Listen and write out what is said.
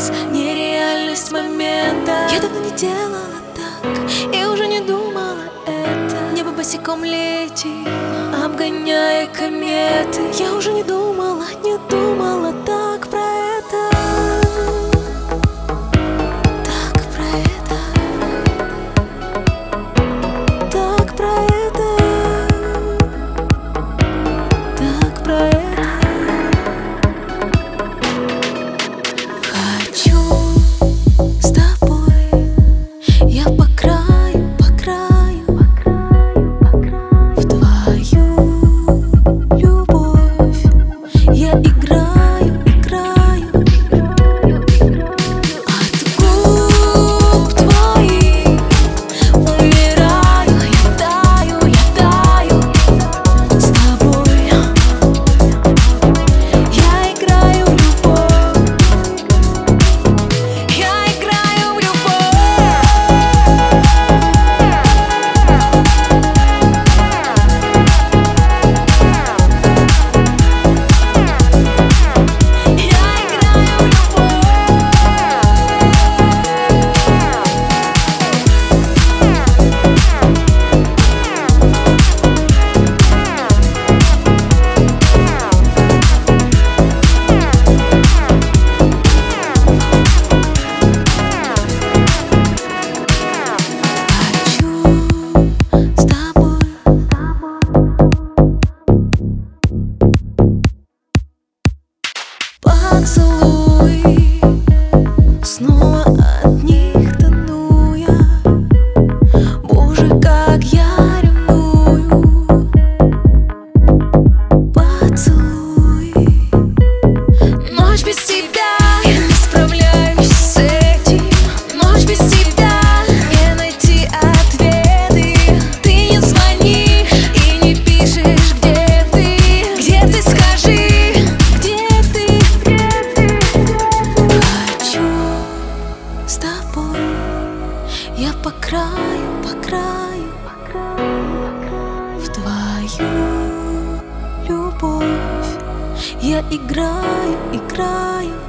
час, нереальность момента. Я давно не делала так и уже не думала это. Небо босиком летит, обгоняя кометы. Я уже не думала так про это. Так про это. Так про это. Так про это. Хочу с тобой я по краю, в твою любовь я играю. От губ твоих умираю, я таю с тобой. Я играю в любовь. Я играю в любовь. Поцелуй, снова от них тону я. Боже, как я ревную. Поцелуй, ночь без тебя, я не справляюсь с этим. Ночь без тебя, не найти ответы. Ты не звонишь и не пишешь, где ты, скажи. С тобой я по краю, в твою любовь я играю.